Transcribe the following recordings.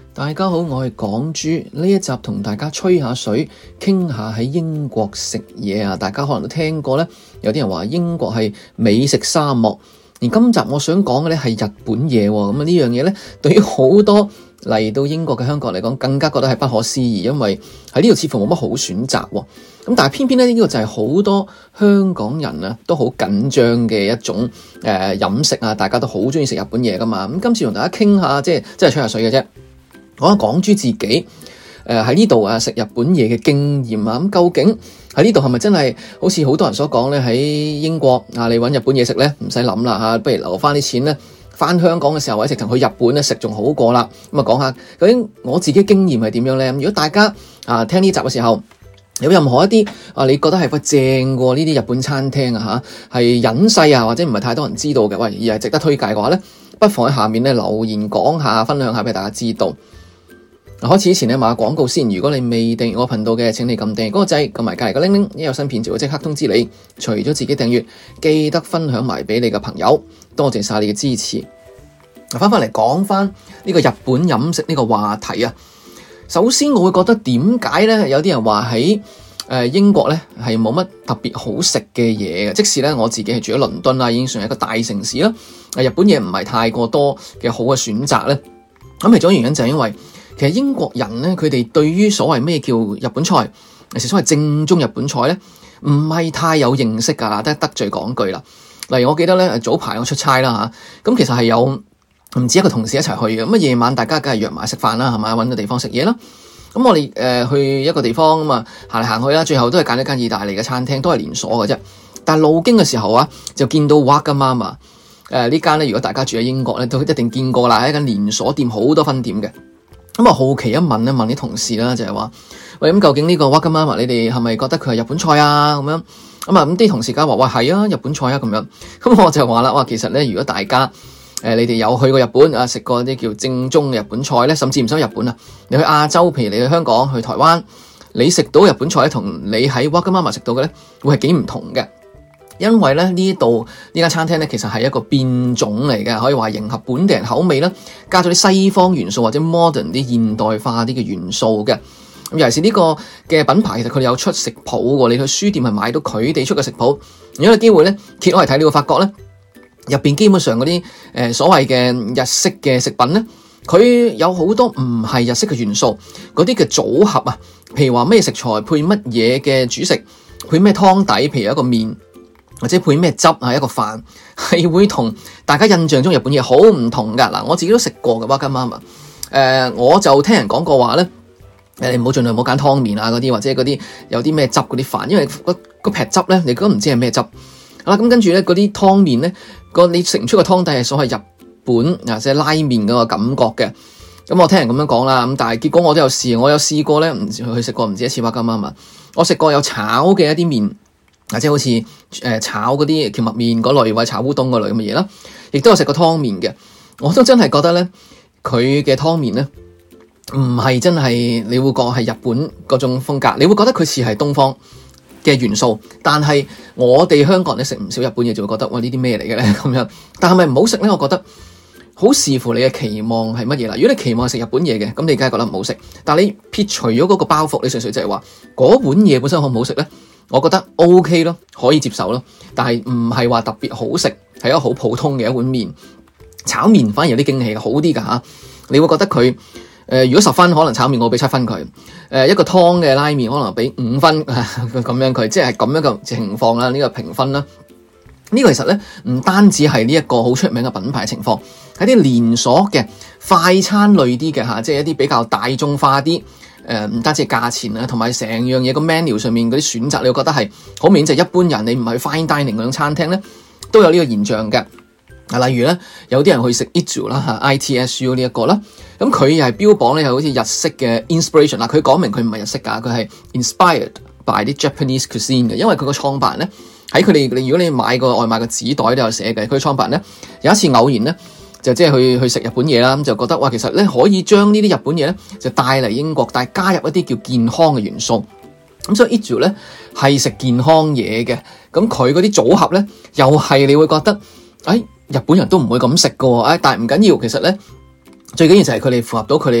大家好，我係港豬，呢一集同大家吹下水，傾下喺英國食嘢啊！大家可能都聽過咧，有啲人話英國係美食沙漠，而今集我想講嘅咧係日本嘢喎。咁呢樣嘢咧，對於好多嚟到英國嘅香港人嚟講，更加覺得係不可思議，因為喺呢度似乎冇乜好選擇喎。咁但係偏偏咧，呢個就係好多香港人啊都好緊張嘅一種飲食啊，大家都好中意食日本嘢噶嘛。咁今次同大家傾下，即係吹下水嘅啫。講下港豬自己喺呢度食日本嘢嘅經驗啊，咁究竟喺呢度係咪真係好似好多人所講咧？喺英國你揾日本嘢食咧，唔使諗啦嚇，不如留翻啲錢咧，翻香港嘅時候或者直頭去日本咧食仲好過啦。咁講下究竟我自己經驗係點樣咧？如果大家聽呢集嘅時候有任何一啲你覺得係正過呢啲日本餐廳啊嚇，係隱世啊或者唔係太多人知道嘅，喂而係值得推介嘅話咧，不妨喺下面咧留言講下，分享下俾大家知道。開始之前咧，賣個廣告先。如果你未訂閱我頻道嘅，請你撳訂閱嗰個掣，撳埋隔籬個鈴鈴，一有新片就會即刻通知你。除咗自己訂閱，記得分享埋俾你嘅朋友。多謝晒你嘅支持。翻嚟講翻呢個日本飲食呢個話題啊。首先我會覺得點解咧，有啲人話喺英國咧係冇乜特別好食嘅嘢嘅。即使咧我自己係住喺倫敦啦，已經算係一個大城市啦。日本嘢唔係太過多嘅好嘅選擇咧。咁其中原因就係因為其實英國人咧，佢哋對於所謂咩叫日本菜，其實所謂正宗日本菜咧，唔係太有認識噶，得罪講句啦。例如我記得咧，早排我出差啦嚇，咁其實係有唔止一個同事一齊去嘅，咁夜晚大家梗係約埋食飯啦，係咪？揾個地方食嘢啦。咁我哋去一個地方咁啊，行嚟行去啦，最後都係揀一間意大利嘅餐廳，都係連鎖嘅啫。但係路經嘅時候啊，就見到 Wagamama 呢間咧，如果大家住喺英國咧，都一定見過啦，係一間連鎖店，好多分店嘅。咁啊，好奇一問啲同事啦，就係話喂，咁究竟呢個 Wagamama 你哋係咪覺得佢係日本菜啊？咁樣咁啲同事梗係話喂，係啊，日本菜啊咁樣。咁我就話啦，哇，其實咧，如果大家你哋有去過日本啊，食過啲叫正宗嘅日本菜咧，甚至唔使日本啊，你去亞洲，譬如你去香港、去台灣，你食到日本菜咧，同你喺 Wagamama 食到嘅咧，會係幾唔同嘅。因為咧呢度呢間餐廳咧，其實係一個變種嚟嘅，可以話迎合本地人口味啦，加咗啲西方元素或者 modern 啲現代化啲嘅元素嘅。咁尤其是呢個嘅品牌，其實佢哋有出食譜喎，你去書店係買到佢哋出嘅食譜。如果有機會咧揭開嚟睇，你會發覺咧入邊基本上嗰啲所謂嘅日式嘅食品咧，佢有好多唔係日式嘅元素，嗰啲嘅組合啊，譬如話咩食材配乜嘢嘅主食，配咩湯底，譬如一個麵。或者配咩汁啊？一個飯係會同大家印象中日本嘢好唔同噶。嗱，我自己都食過嘅 Wagamama。我就聽人講過話咧，你盡量唔好揀湯麵啊嗰啲，或者嗰啲有啲咩汁嗰啲飯，因為個劈汁咧，你都唔知係咩汁。好啦，咁跟住咧嗰啲湯麵咧，你食唔出個湯底係所謂日本即係拉麵嗰個感覺嘅。咁我聽人咁樣講啦，咁但係結果我都有試，我有試過咧，去食過唔止一次 Wagamama。我食過有炒嘅一啲麵。即係好似炒嗰啲蕎麥麵嗰類，或者炒烏冬嗰類咁嘅嘢啦，亦都有食過湯麵嘅。我都真係覺得咧，佢嘅湯麵咧唔係真係你會講係日本嗰種風格，你會覺得佢似係東方嘅元素。但係我哋香港人咧食唔少日本嘢，就會覺得哇呢啲咩嚟嘅咧咁樣。但係咪唔好食咧？我覺得好視乎你嘅期望係乜嘢啦。如果你期望係食日本嘢嘅，咁你梗係覺得唔好食。但係你撇除咗嗰個包袱，你純粹就係話嗰碗嘢本身好唔好食咧？我覺得 OK 咯，可以接受咯，但係唔係話特別好食，係一個好普通嘅一碗麵。炒麵反而有啲驚喜嘅，好啲㗎吓。你會覺得佢如果10分，可能炒麵我俾7分佢。一個湯嘅拉麵可能俾5分咁樣佢，即係咁樣嘅情況啦。呢個評分啦，呢個其實咧唔單止係呢一個好出名嘅品牌情況，係啲連鎖嘅快餐類啲嘅吓，即係一啲比較大眾化啲。唔單止係價錢啊，同埋成樣嘢個 menu 上面嗰啲選擇，你會覺得係好明顯就係一般人你唔係去 fine dining 嗰種餐廳咧，都有呢個現象嘅。例如咧，有啲人去食 Itsu 啦，ITSU 呢一個啦，咁佢又係標榜咧係好似日式嘅 inspiration 啦。佢講明佢唔係日式㗎，佢係 inspired by 啲 Japanese cuisine 嘅，因為佢個創辦人咧喺佢哋，如果你買個外賣個紙袋都有寫嘅，佢創辦人咧有一次偶然咧。就即係去食日本嘢啦，咁就覺得哇，其實咧可以將呢啲日本嘢咧就帶嚟英國，但係加入一啲叫健康嘅元素。咁所以 Itsu 咧係食健康嘢嘅，咁佢嗰啲組合咧又係你會覺得，日本人都唔會咁食㗎喎，但係唔緊要，其實咧最緊要就係佢哋符合到佢哋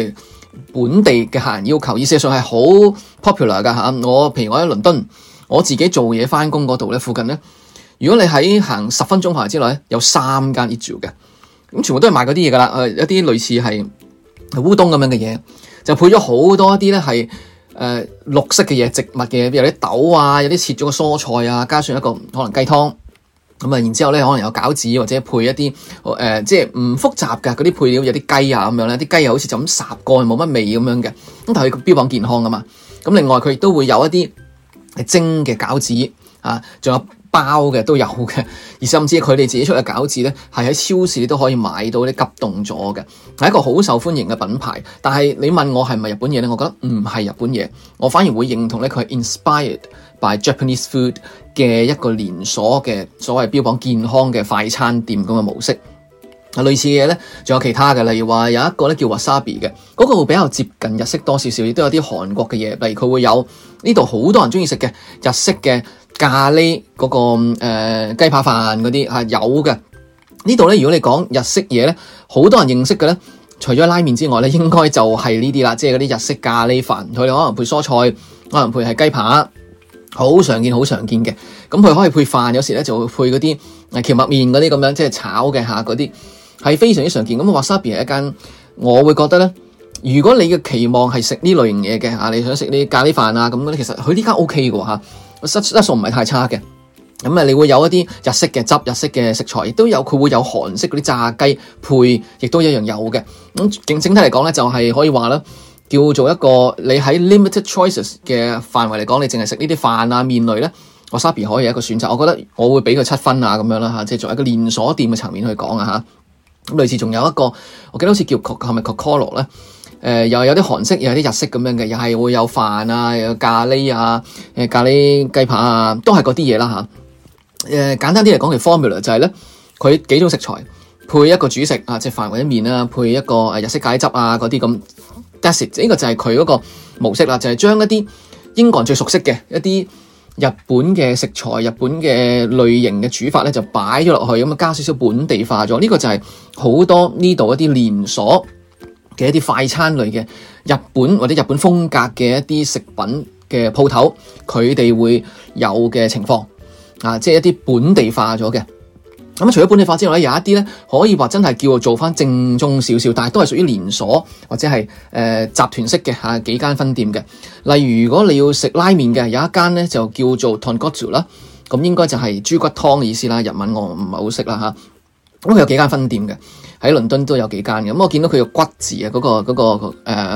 本地嘅客人要求，而事實上係好 popular 噶嚇。譬如我喺倫敦，我自己做嘢返工嗰度咧，附近咧，如果你喺行10分鐘範圍之內咧，有3間 Eat Joo 嘅，咁全部都係賣嗰啲嘢噶啦，一啲類似係烏冬咁樣嘅嘢，就配咗好多一啲咧係綠色嘅嘢，植物嘅，有啲豆啊，有啲切咗個蔬菜啊，加上一個可能雞湯。咁啊，然之後咧，可能有餃子或者配一啲即係唔複雜嘅嗰啲配料，有啲雞啊咁樣咧，啲雞又好似就咁烚過，冇乜味咁樣嘅。咁但係佢標榜健康㗎嘛。咁另外佢亦都會有一啲蒸嘅餃子啊，仲有包嘅都有嘅。而甚至佢哋自己出嘅餃子咧，係喺超市都可以買到啲急凍咗嘅，係一個好受歡迎嘅品牌。但係你問我係咪日本嘢咧？我覺得唔係日本嘢，我反而會認同咧佢係 inspired by Japanese food 嘅一個連鎖嘅所謂標榜健康嘅快餐店咁嘅模式。類似嘅嘢咧，仲有其他嘅，例如話有一個咧叫 Wasabi 嘅，嗰個會比較接近日式多少少，亦都有啲韓國嘅嘢，例如佢會有呢度好多人鍾意食嘅日式嘅咖喱嗰個雞扒飯嗰啲係有嘅。呢度咧，如果你講日式嘢咧，好多人認識嘅咧，除咗拉麵之外咧，應該就係呢啲啦，即係嗰啲日式咖喱飯，佢哋可能配蔬菜，可能配係雞扒。好常見嘅，咁佢可以配飯，有時咧就會配嗰啲蕎麥麵嗰啲咁樣，即係炒嘅嗰啲係非常之常見。咁 Wasabi 係一間，我會覺得咧，如果你嘅期望係食呢類型嘢嘅你想食啲咖喱飯啊咁嗰啲，其實佢呢間 OK 嘅質素唔係太差嘅。咁你會有一啲日式嘅汁、日式嘅食材，亦都有佢會有韓式嗰啲炸雞配，亦都一樣有嘅。咁整體嚟講咧，就係可以話啦。叫做一個你喺 limited choices 嘅範圍嚟講，你淨係食呢啲飯啊麵類咧，Wasabi可以有一個選擇。我覺得我會俾佢7分啊咁樣啦嚇，即係作為一個連鎖店嘅層面去講啊嚇。咁類似仲有一個，我記得好似叫係咪 Kokoro 咧？又有啲韓式，又有啲日式咁樣嘅，又係會有飯啊，又有咖喱啊，咖喱雞扒啊，都係嗰啲嘢啦嚇。簡單啲嚟講，其 formula 就係咧，佢幾種食材配一個主食啊，即係飯或者麵啊，配一個日式咖喱汁啊嗰啲咁。That's it，呢個就係佢嗰個模式啦，就係將一啲英國人最熟悉嘅一啲日本嘅食材、日本嘅類型嘅煮法咧，就擺咗落去，咁加少少本地化咗。呢個就係好多呢度一啲連鎖嘅一啲快餐類嘅日本或者日本風格嘅一啲食品嘅鋪頭，佢哋會有嘅情況啊，即係一啲本地化咗嘅。咁除咗本地化之外咧，有一啲咧可以話真係叫做返正宗少少，但係都係屬於連鎖或者係集團式嘅幾間分店嘅。例如如果你要食拉麵嘅，有一間咧就叫做 Tonkotsu 啦，咁應該就係豬骨湯嘅意思啦。日文我唔係好識啦嚇。咁佢有幾間分店嘅，喺倫敦都有幾間嘅。咁我見到佢個骨字啊，嗰個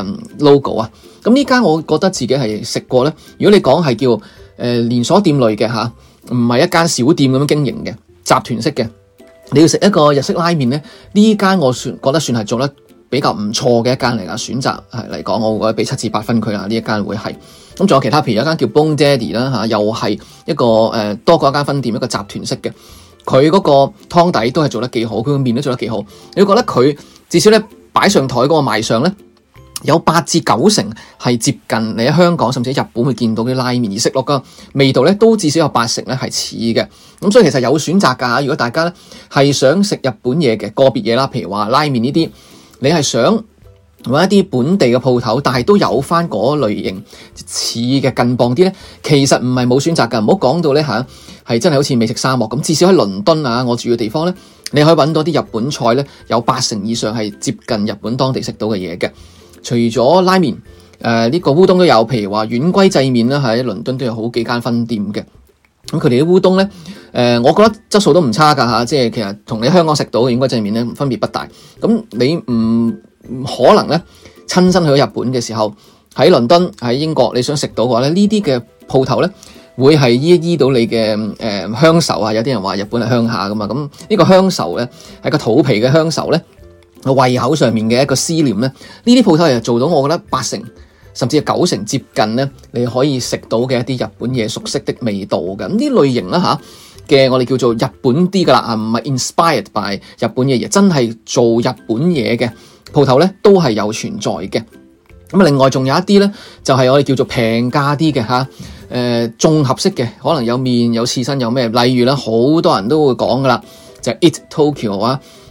logo 啊，咁呢間我覺得自己係食過咧。如果你講係叫連鎖店類嘅嚇，唔係一間小店咁樣經營嘅。集團式嘅，你要食一個日式拉麵咧，呢間我覺得算係做得比較唔錯嘅一間嚟㗎。選擇嚟講，我會覺得俾7至8分佢啦。呢一間會係咁，仲有其他，譬如有一間叫 Bone Daddy 啦，又係一個多過一間分店，一個集團式嘅。佢嗰個湯底都係做得幾好，佢個麵都做得幾好。你會覺得佢至少咧擺上台嗰個賣相咧，有8至9成係接近你喺香港甚至喺日本會見到啲拉麵，而食落個味道咧都至少有8成咧係似嘅。咁所以其實有選擇㗎。如果大家咧係想食日本嘢嘅個別嘢啦，譬如話拉麵呢啲，你係想揾一啲本地嘅鋪頭，但係都有翻嗰類型似嘅近磅啲咧，其實唔係冇選擇㗎。唔好講到咧嚇係真係好似美食沙漠咁。至少喺倫敦啊，我住嘅地方咧，你可以揾到啲日本菜咧，有8成以上係接近日本當地食到嘅嘢嘅。除咗拉麵，呢個烏冬都有，譬如話丸龜製麵啦，喺倫敦都有好幾間分店嘅。咁佢哋啲烏冬咧，我覺得質素都唔差㗎嚇，即係其實同你香港食到嘅丸龜製麵咧分別不大。咁你唔可能咧親身去到日本嘅時候，喺倫敦喺英國你想食到嘅話咧，呢啲嘅鋪頭咧會係醫到你嘅鄉愁啊！有啲人話日本係鄉下㗎嘛，咁呢個鄉愁咧係個肚皮嘅鄉愁咧。胃口上面嘅一個思念咧，呢啲鋪頭又做到，我覺得8成甚至係9成接近咧，你可以食到嘅一啲日本嘢熟悉的味道嘅。咁呢類型啦嘅，我哋叫做日本啲噶啦，唔係 inspired by 日本嘅嘢，真係做日本嘢嘅鋪頭咧，都係有存在嘅。咁另外仲有一啲咧，就係我哋叫做平價啲嘅綜合式嘅，可能有麵有刺身有咩，例如咧好多人都會講噶啦，就係 Eat Tokyo 啊。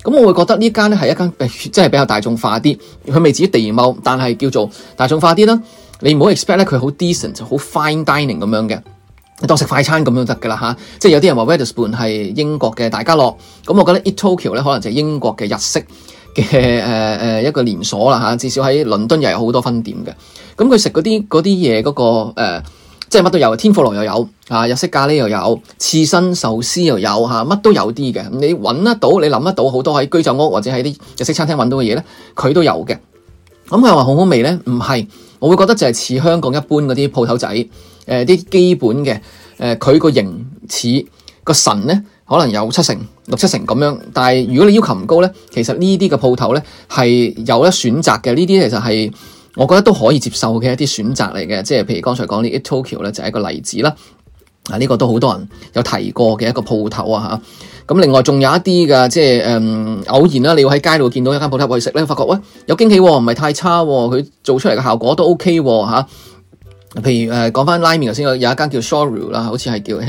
咁我會覺得呢間咧係一間即係比較大眾化啲，佢未至於地踎，但係叫做大眾化啲啦。你唔好 expect 咧佢好 decent 好 fine dining 咁樣嘅，當食快餐咁樣得噶啦吓。即係有啲人話 Wetherspoon 係英國嘅大家樂，咁我覺得 Eat Tokyo 咧可能就係英國嘅日式嘅一個連鎖啦吓，至少喺倫敦又有好多分店嘅。咁佢食嗰啲嘢嗰個即係乜都有，天婦羅又有日式咖喱又有，刺身壽司又有乜都有啲嘅。你揾得到，你諗得到好多喺居酒屋或者喺啲日式餐廳揾到嘅嘢咧，佢都有嘅。咁佢話好好味咧，唔係，我會覺得就係似香港一般嗰啲鋪頭仔，啲基本嘅，佢個形似個神咧，可能有6-7成咁樣。但係如果你要求唔高咧，其實呢啲嘅鋪頭咧係有得選擇嘅。呢啲其實係我覺得都可以接受嘅一啲選擇嚟嘅，即係譬如剛才講啲 Eat Tokyo 咧就係一個例子啦。呢個都好多人有提過嘅一個鋪頭啊嚇。咁另外仲有一啲嘅，即係偶然啦，你要喺街度見到一間鋪頭去食咧，發覺喂有驚喜喎，唔係太差喎，佢做出嚟嘅效果都 OK 喎嚇。譬如講翻拉麵頭先有一間叫 Shoryu 啦，好似係叫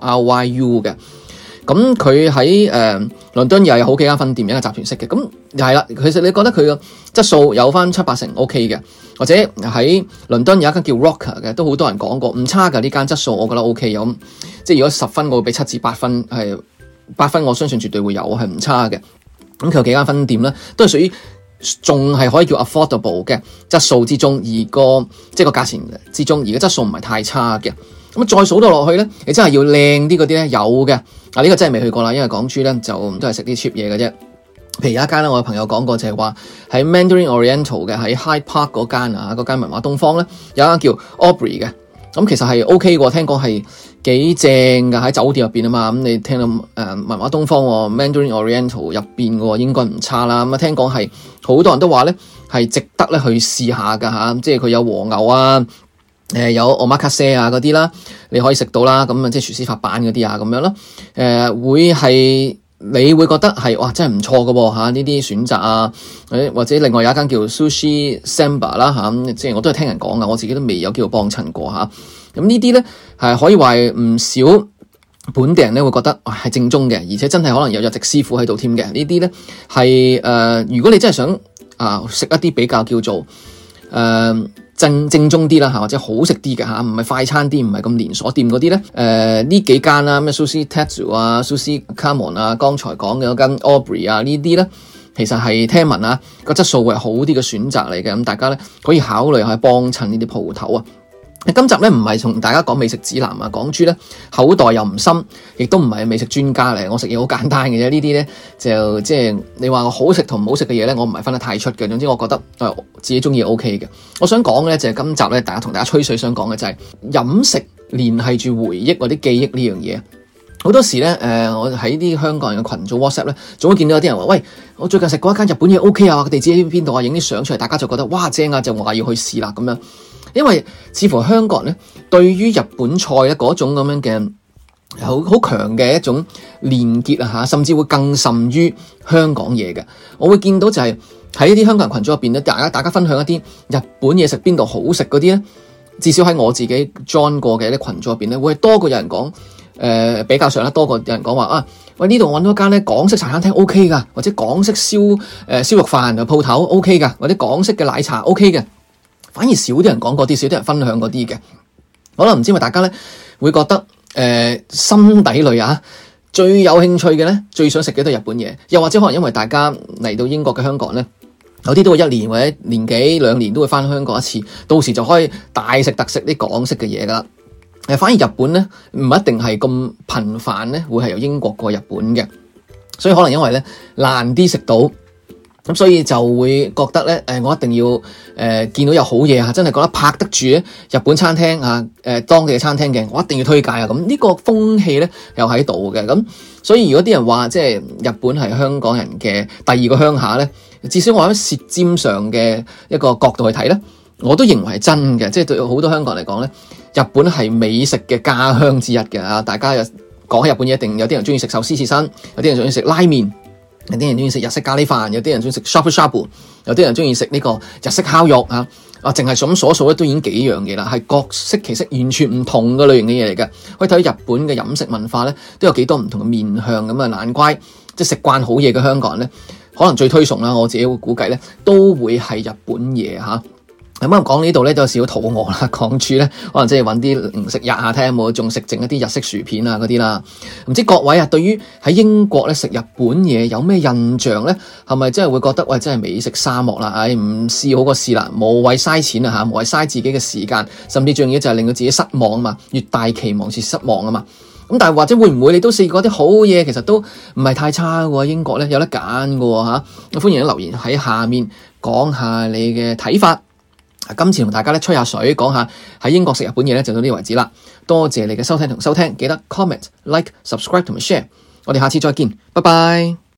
Shoryu 嘅。咁佢喺倫敦又有好幾間分店，一個集團式嘅。咁係啦，其實你覺得佢個質素有翻7-8成 OK 嘅，或者喺倫敦有一間叫 Rocker 嘅，都好多人講過唔差㗎，呢間質素我覺得 OK 咁。即係如果10分，我會俾7至8分，係8分，我相信絕對會有，係唔差嘅。咁佢有幾間分店咧，都係屬於仲係可以叫 affordable 嘅質素之中，而即係個價錢之中，而個質素唔係太差嘅。咁再數到落去咧，你真係要靚啲嗰啲咧，有嘅。呢個真係未去過啦，因為港豬咧就都係食啲 cheap 嘢嘅啫。譬如有一間咧，我嘅朋友講過就係話喺 Mandarin Oriental 嘅喺 Hyde Park 嗰間文華東方咧，有一間叫 Aubrey 嘅。咁其實係 OK 嘅，聽講係幾正㗎，喺酒店入邊啊嘛。咁你聽到文華東方 Mandarin Oriental 入邊嘅應該唔差啦。咁聽講係好多人都話咧係值得咧去試下㗎嚇，即係佢有和牛啊。有 omakase 啊嗰啲啦，你可以食到啦，咁即係廚師發辦嗰啲啊咁樣啦，會係你會覺得係哇真係唔錯㗎喎嚇，呢啲選擇啊，或者另外有一間叫 Sushi Samba 啦嚇，即係我都係聽人講㗎，我自己都未有機會幫襯過嚇。咁呢啲咧係可以話唔少本地人咧會覺得係正宗嘅，而且真係可能有日籍師傅喺度添嘅。呢啲咧係如果你真係想食一啲比較叫做正宗啲啦嚇，或者好食啲嘅嚇，唔係快餐店，唔係咁連鎖店嗰啲咧。呢幾間啦，咩 Sushi Tetsu 啊、Sushi Kamon 啊，剛才講嘅嗰間 Aubrey 啊，呢啲咧其實係聽聞個質素會係好啲嘅選擇嚟嘅。咁大家咧可以考慮下幫襯呢啲鋪頭啊。今集咧唔係同大家講美食指南啊，港豬咧口袋又唔深，亦都唔係美食專家嚟。我食嘢好簡單嘅啫，呢啲咧就即係你話我好食同唔好食嘅嘢咧，我唔係分得太出嘅。總之我覺得自己中意 OK 嘅。我想講嘅咧就係今集咧，同大家吹水想講嘅就係飲食聯繫住回憶或者記憶呢樣嘢。好多時咧我喺啲香港人嘅群組 WhatsApp 咧，總會見到有啲人話：喂，我最近食過一間日本嘢 OK 啊，個地址喺邊度啊？影啲相出嚟，大家就覺得哇正啊，就話要去試啦咁樣。因為似乎香港人咧，對於日本菜咧嗰種咁樣嘅好強嘅一種連結啊嚇，甚至會更甚於香港嘢嘅。我會見到就係喺一啲香港人群組入邊咧，大家分享一啲日本嘢食邊度好食嗰啲咧，至少喺我自己 join 過嘅一啲群組入邊咧，會係多過有人講比較上咧多過有人講話喂，呢度揾到一間咧港式茶餐廳 OK 噶，或者港式燒肉飯嘅鋪頭 OK 噶，或者港式嘅奶茶 OK 嘅。反而少啲人講嗰啲，少啲人分享嗰啲嘅，可能唔知咪大家咧會覺得心底裏最有興趣嘅咧，最想食嘅都係日本嘢，又或者可能因為大家嚟到英國嘅香港咧，有啲都會1年或者年幾2年都會翻香港一次，到時就可以大食特食啲港式嘅嘢噶啦。反而日本咧唔一定係咁頻繁咧，會係由英國過日本嘅，所以可能因為咧難啲食到。咁所以就會覺得咧，我一定要見到有好嘢真係覺得拍得住咧日本餐廳當地嘅餐廳嘅，我一定要推介啊！咁呢個風氣咧又喺度嘅，咁所以如果啲人話即係日本係香港人嘅第二個鄉下咧，至少我喺舌尖上嘅一個角度去睇咧，我都認為係真嘅，即係對好多香港人嚟講咧，日本係美食嘅家鄉之一嘅啊！大家又講起日本嘢，一定有啲人中意食壽司刺身，有啲人中意食拉麵。有啲人中意食日式咖喱飯，有啲人中意食 shabu shabu， 有啲人中意食呢個日式烤肉淨係咁所數咧都已經幾樣嘢啦，係各式其式完全唔同嘅類型嘅嘢嚟嘅。可以睇到日本嘅飲食文化咧都有幾多唔同嘅面向咁啊，難怪即係食慣好嘢嘅香港人咧，可能最推崇啦，我自己會估計咧，都會係日本嘢嚇。咁講呢度咧都有少少肚餓啦，港豬咧可能即係揾啲零食吔下，睇下有冇仲食剩一啲日式薯片啊嗰啲啦。唔知各位啊，對於喺英國咧食日本嘢有咩印象咧？係咪真係會覺得喂，真係美食沙漠啦？唉，唔試好過試啦，無謂嘥錢啊嚇，無謂嘥自己嘅時間，甚至最重要就係令到自己失望啊嘛，越大期望越失望啊嘛。咁但係或者會唔會你都試過啲好嘢，其實都唔係太差嘅喎？英國咧有得揀嘅喎嚇，歡迎留言喺下面講下你嘅睇法。今次同大家咧吹下水，講下喺英國食日本嘢咧，就到呢度為止啦。多謝你嘅收睇同收聽，記得 comment、like、subscribe 同埋 share。我哋下次再見，拜拜。